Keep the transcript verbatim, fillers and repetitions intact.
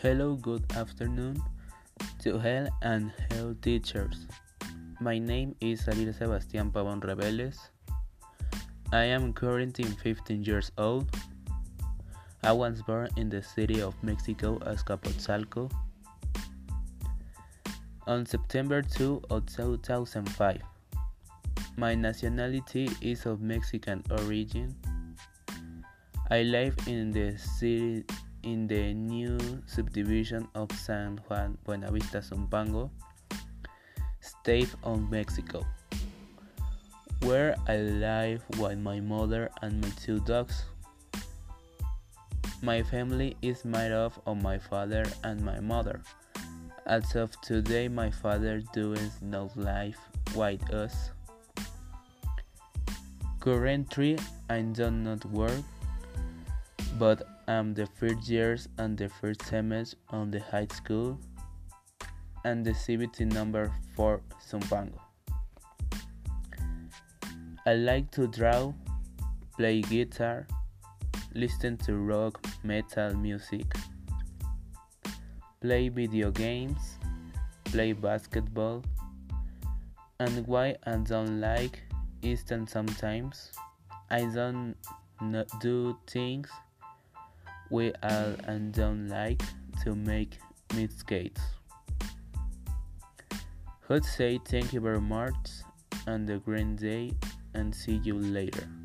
Hello, good afternoon to all and all teachers. My name is Ariel Sebastián Pavón Rebeles. I am currently fifteen years old. I was born in the city of Mexico, Azcapotzalco, on September second of two thousand five. My nationality is of Mexican origin. I live in the city in the new subdivision of San Juan Buenavista Zumpango, state of Mexico, where I live with my mother and my two dogs. My family is made up of my father and my mother. As of today, my father does not live with us. Currently, I do not work, but I'm the first years and the first semester on the high school and the C B T number four Zumpango. I like to draw, play guitar, listen to rock, metal music, play video games, play basketball, and why I don't like is that sometimes I don't do things we all and don't like to make mistakes. I'd say thank you very much and a great day and see you later.